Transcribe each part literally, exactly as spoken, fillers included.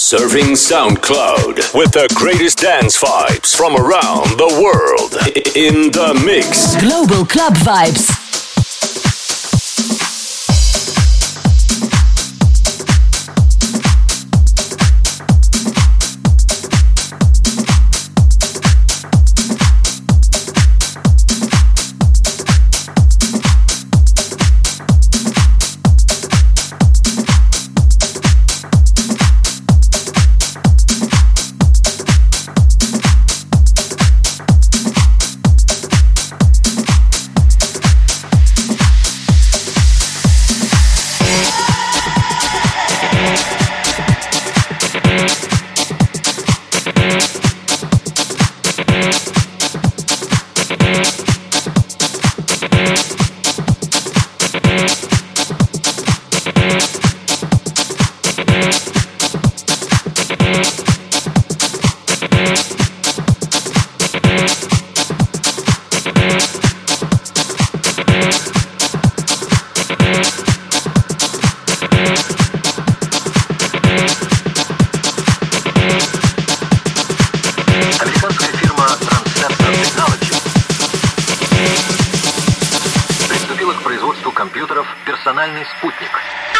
Surfing SoundCloud with the greatest dance vibes from around the world. In the mix. Global Club Vibes. Спутник.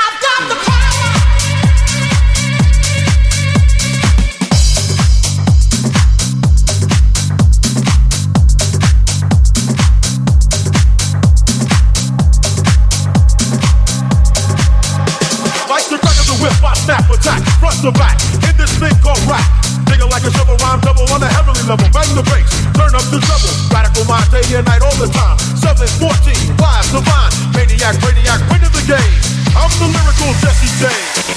Like the crack of the whip, I snap, attack, front to back, in this thing called rap. Nigga like a shovel, rhyme double on a heavenly level. Bang the bass, turn up the treble. Radical mind, day and night, all the time. seven fourteen, live, divine, maniac, radiac, winning the game. I'm the lyrical Jesse James.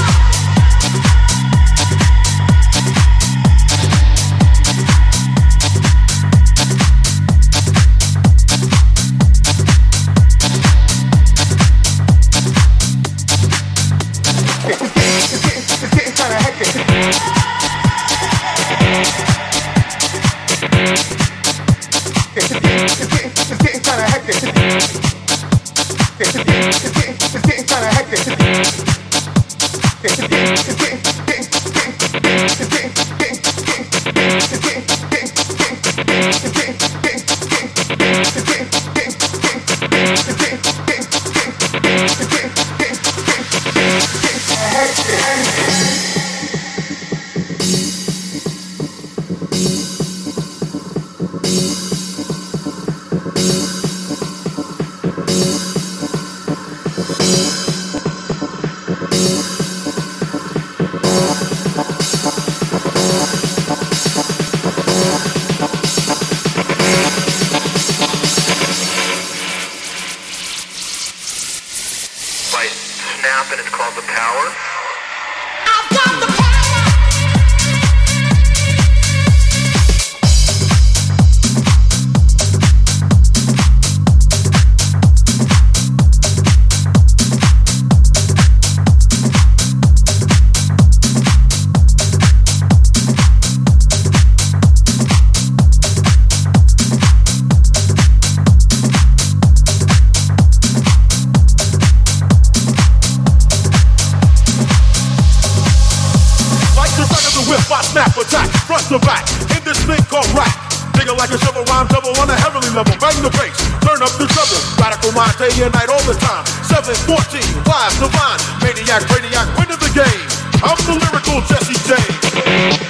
Day and night, all the time. seven fourteen, live, divine, maniac, radiac, winning the game. I'm the lyrical Jesse James.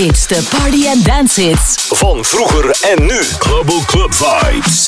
hits, de party en dance hits. Van vroeger en nu. Global Club Vibes.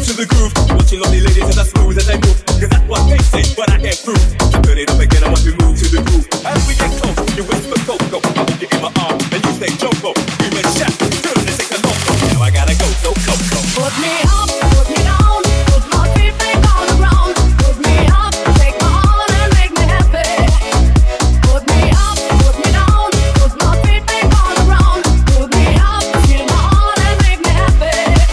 to the groove. Watching lovely ladies as I smooth as they move. Cause that's what they say, but I can't prove. Turn it up again, I want to move to the groove. As we get close, you whisper Coco. I hold you in my arm, and you say Jumbo. You make shout, turn and take a loco. Now I gotta go, so Coco. Put me up, put me down, put my feet back on the ground. Put me up, take my heart and make me happy. Put me up, put me down, put my feet back on the ground. Put me up, feel my heart and make me happy.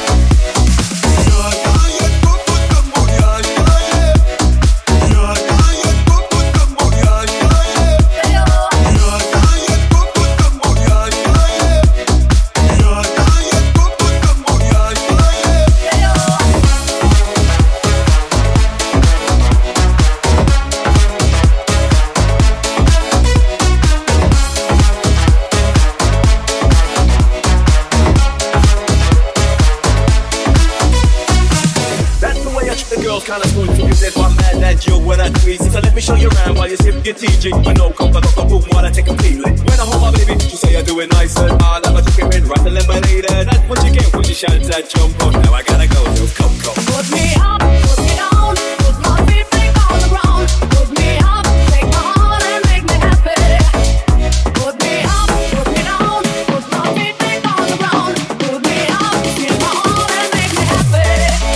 Kinda smooth, you said one man that you when I squeeze. So let me show you around while you sip your T G. But no comfort, no boom while I take a peel. When I hold my baby, she say I do it nice and hard. I'm a chicken, right the lemonade. That's what you get when you shout that jump on. Now I gotta go, so come, come. Put me up, put me down, put my feet back on the ground. Put me up, take my heart and make me happy. Put me up, put me down, put my feet back on the ground. Put me up, feel my heart and make me happy.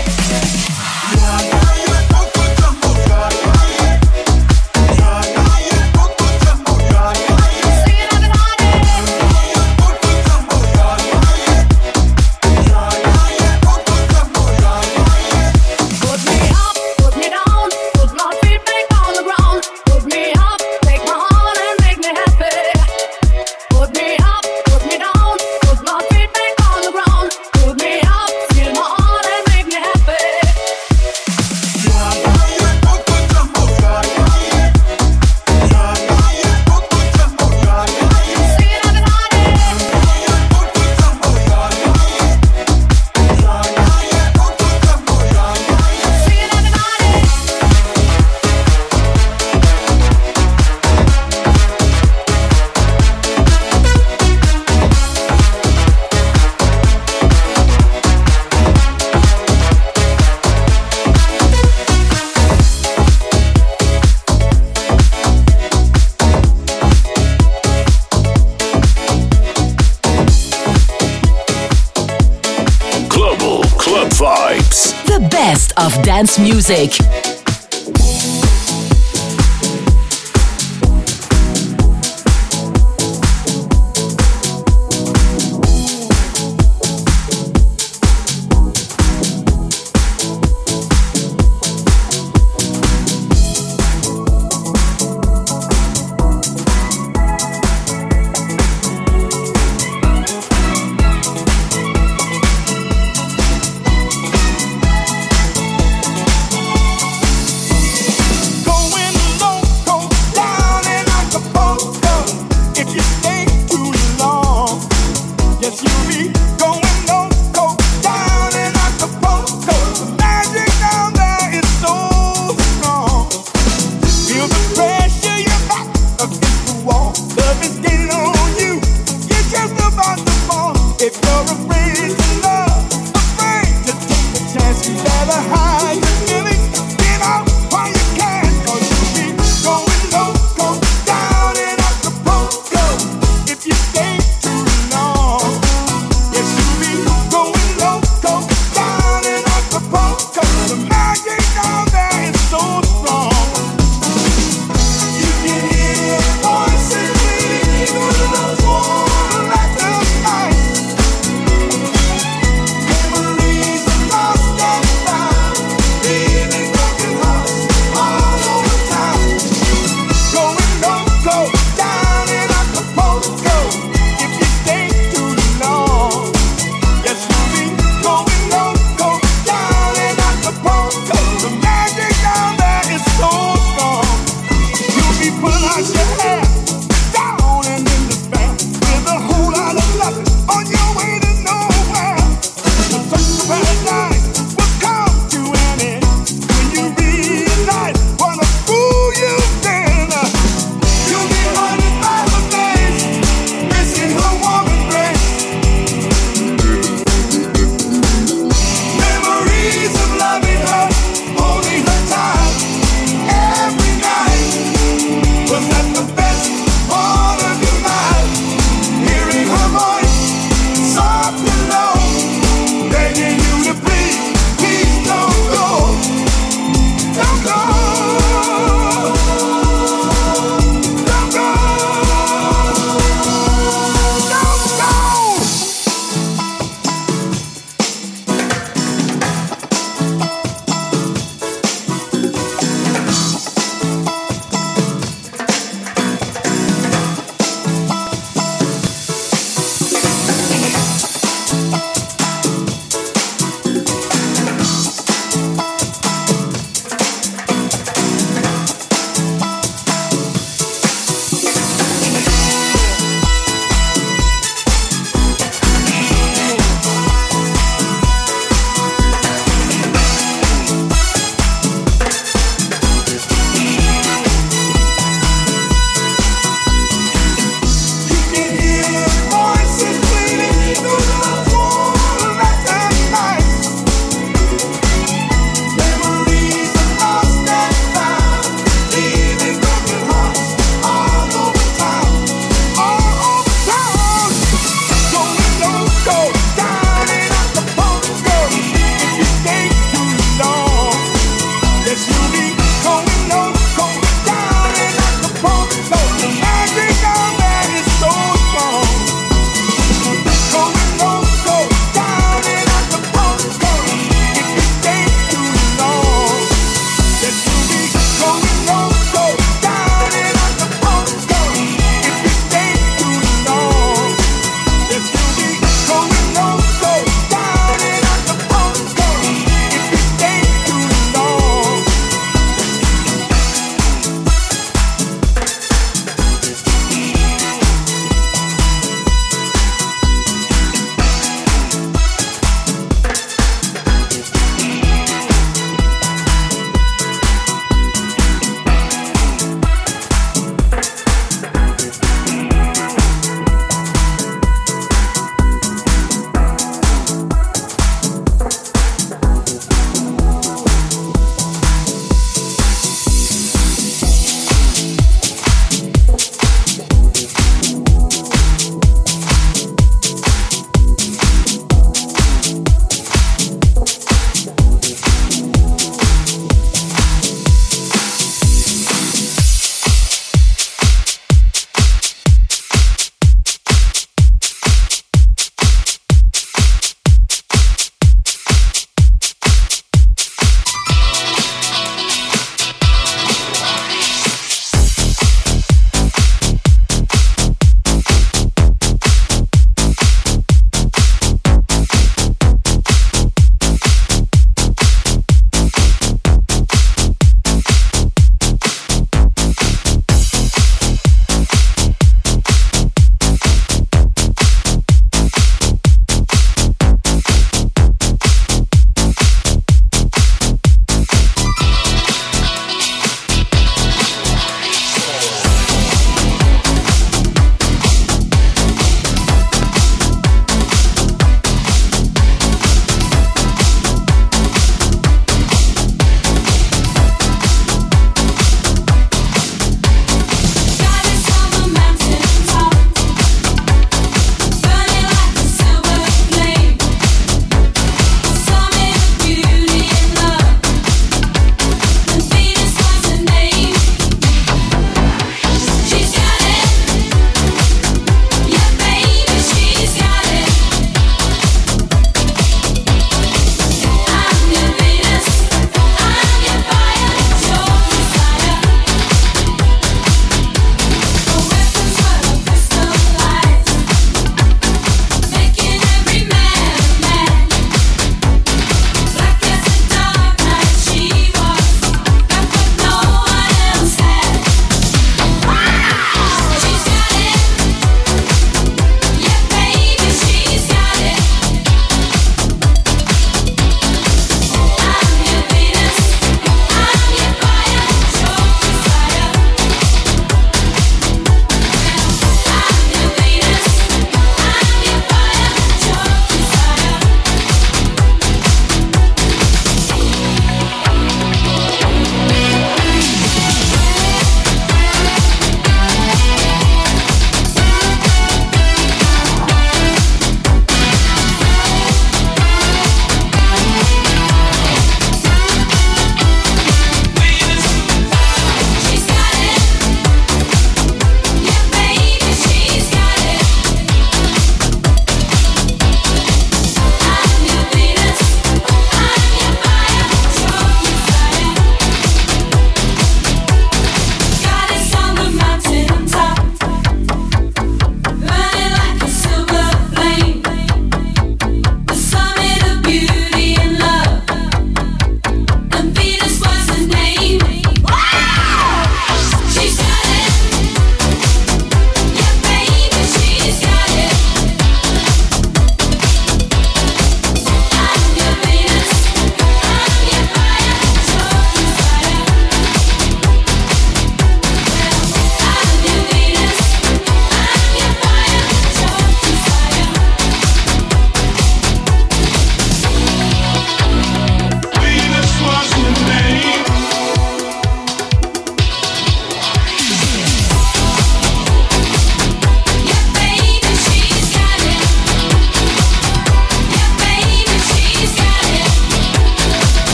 Of dance music.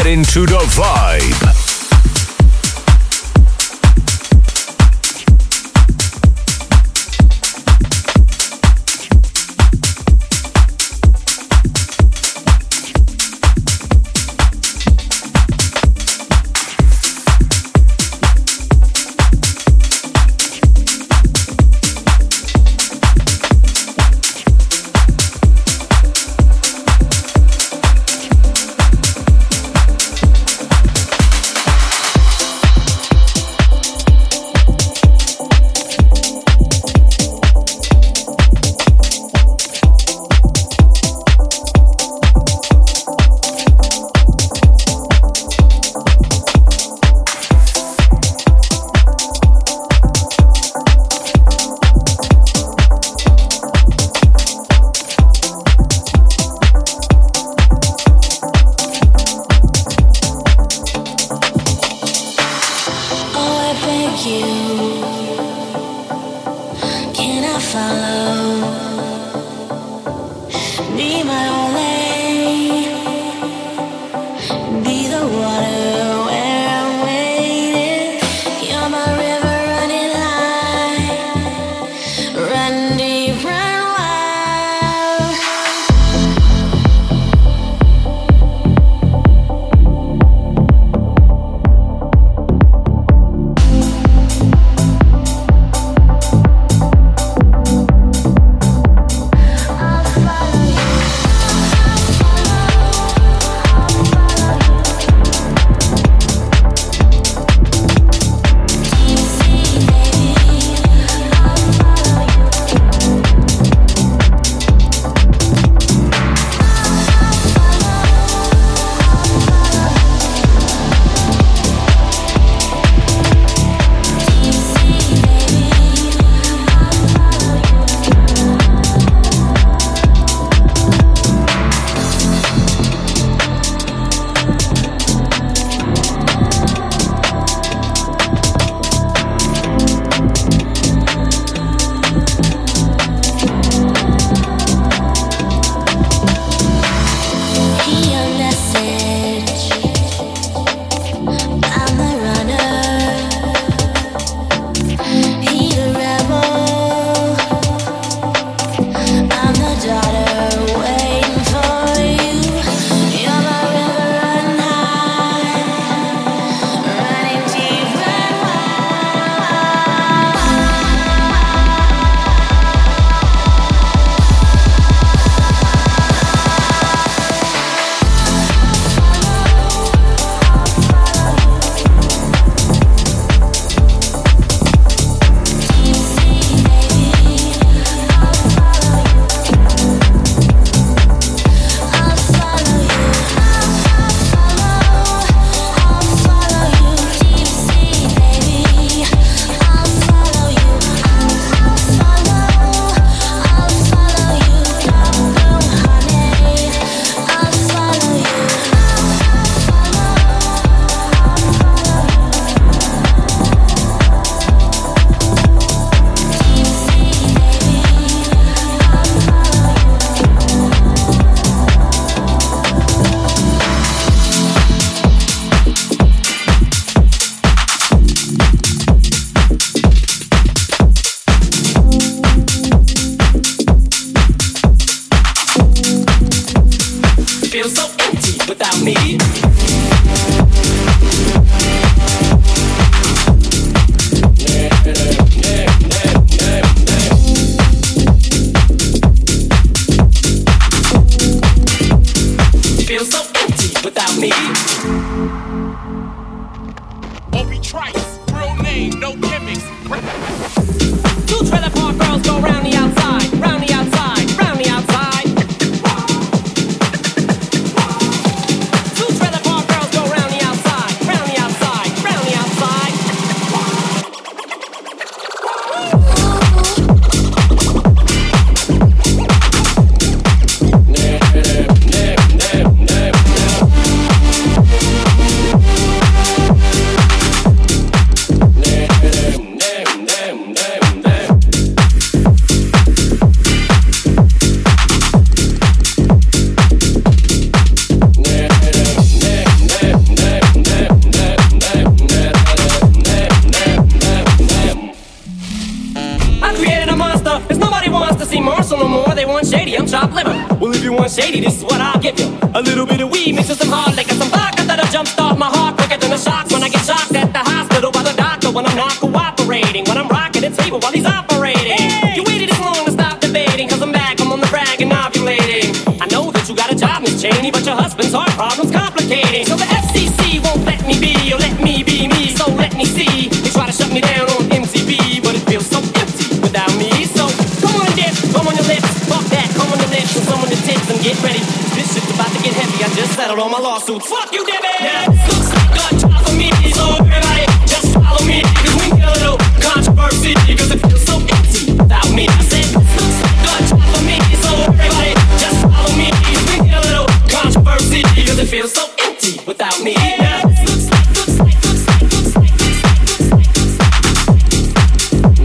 Get into the vibe. shady, this is what I'll give you. A little bit of weed mixed with some hard liquor, some vodka that'll jumpstart my heart quicker than a shock when I get shocked at the hospital by the doctor when I'm not cooperating, when I'm rocking the table while he's operating. Hey! You waited this long to stop debating, cause I'm back, I'm on the rag and ovulating. I know that you got a job, Miss Cheney, but your husband's heart problem's complicating. So the F C C won't let me be, or let me be me, so let me see. They try to shut me down on M T V, but it feels so empty without me. So come on, dip, come on your lips, fuck that, come on your lips, and some on your tits, and get ready. This shit's about to get heavy, I just settled all my lawsuits. Fuck you, Debbie! Now this looks like a job for me, so everybody just follow me, cause we get a little controversy, cause it feels so empty without me. I said this looks like a job for me, so everybody just follow me, cause we get a little controversy, cause it feels so empty without me. Now this looks like, looks like, looks like, looks like, looks like, looks like,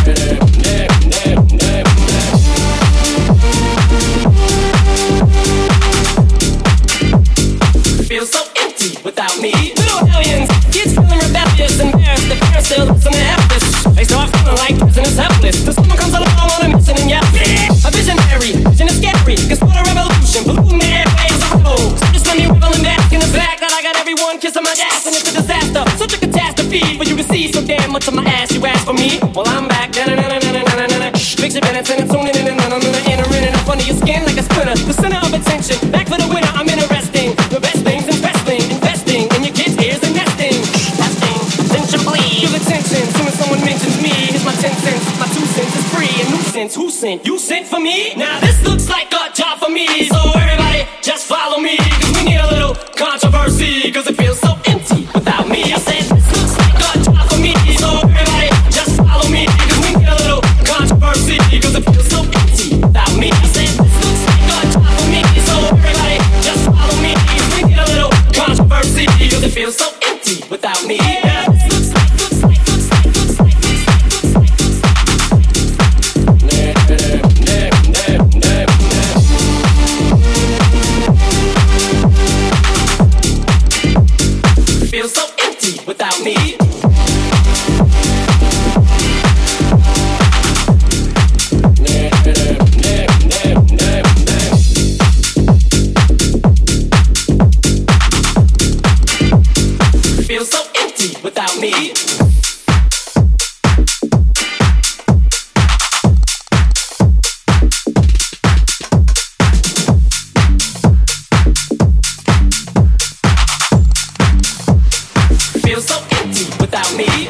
feels so empty without me. Little aliens, kids feeling rebellious, embarrassed, the parents still listen to F this. They start feeling like prisoners helpless. Till someone comes along on a mission and yells, a visionary, vision is scary, can start a revolution, polluting the airwaves of rebel. So just let me revel and bask in the fact that I got everyone kissing my ass, and it's a disaster, such a catastrophe for you to see so damn much of my ass. You ask for me, well I'm back. Picture Bennett and tuning in and I'm gonna enter in and up under your skin like a splinter. The center of attention, back for the winner. I'm interesting. The best things in wrestling, investing in your kids' ears and nesting. Testing, attention please. Feel attention, soon as someone mentions me. Here's my ten cents, my two cents is free. A nuisance, who sent? You sent for me? Now this looks like a job for me, so everybody just follow me, cause we need a little controversy, cause it feels so empty without me. I said this looks like a job for me, so everybody just follow me, cause we need a little controversy, cause it feels so empty without me. I said this looks like a job for me, so everybody just follow me, cause we need a little controversy, cause it feels so empty without me. Yeah, this looks like, looks like, looks like, looks like, looks like, looks like, looks like, feels so empty without me. Feels so empty without me. Feels so empty without me.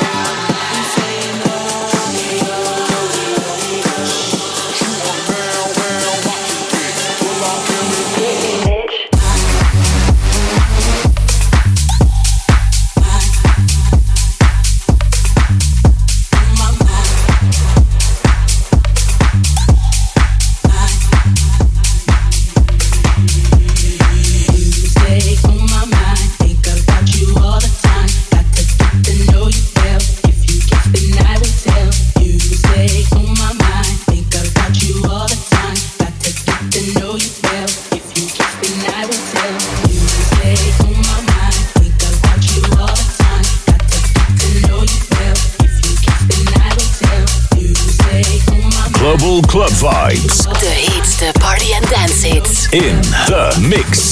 Down. Global Club Vibes. De heetste party en dance hits. In the mix.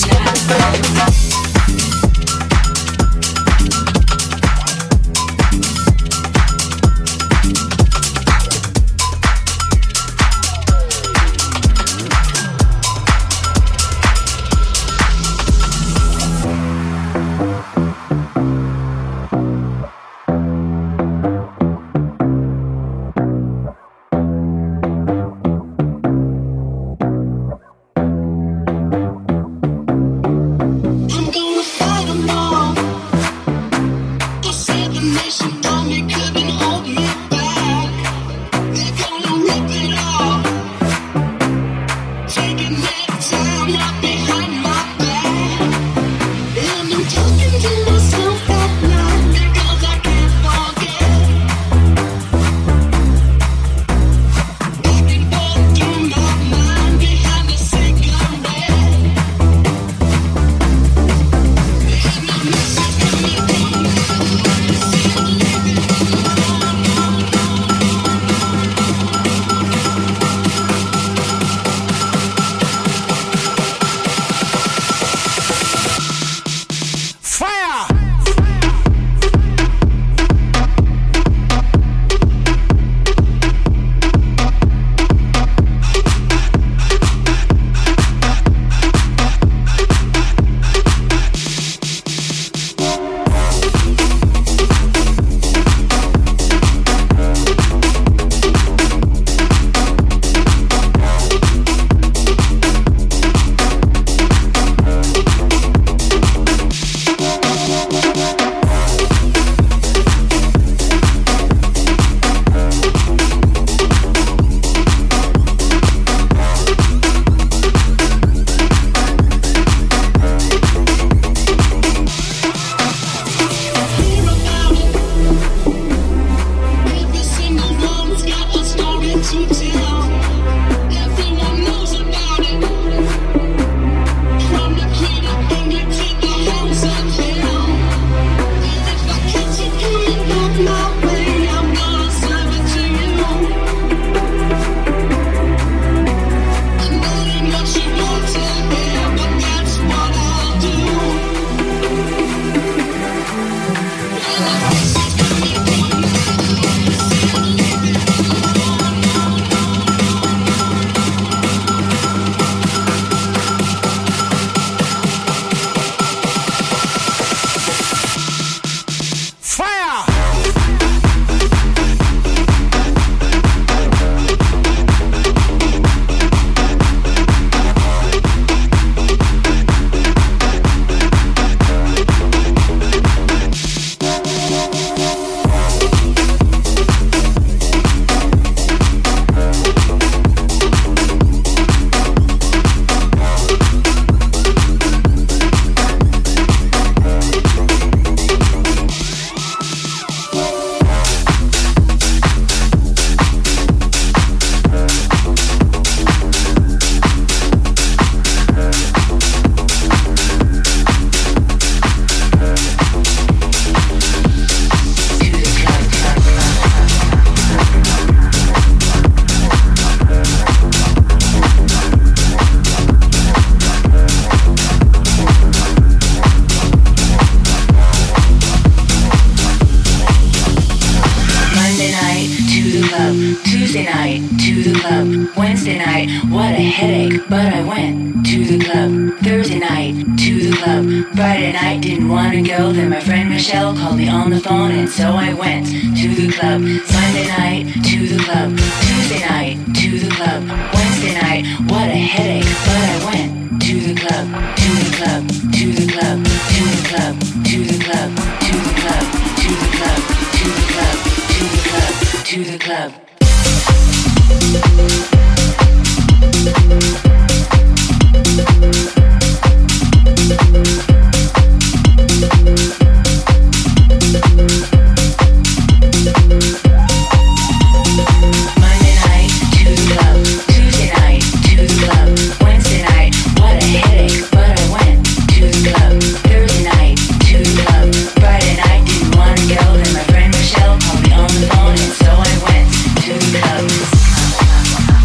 Friday night, didn't wanna go, then my friend Michelle called me on the phone, and so I went to the club.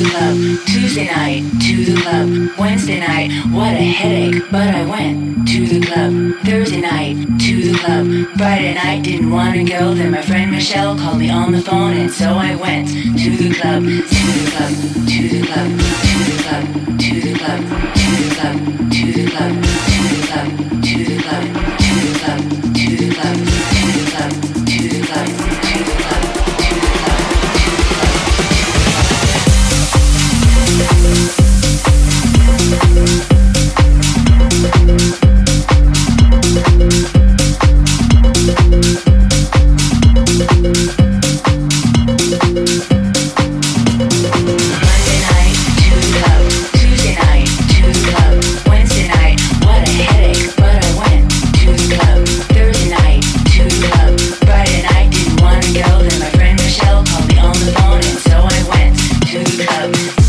the club. Tuesday night, to the club. Wednesday night, what a headache, but I went to the club. Thursday night, to the club. Friday night, didn't want to go. Then my friend Michelle called me on the phone, and so I went to the club, to the club, to the club, to the club, to the club, to the club, to the club, to the club, to the club, to the club, to the club, to the club, to the club, to the club. Friday night, to the club.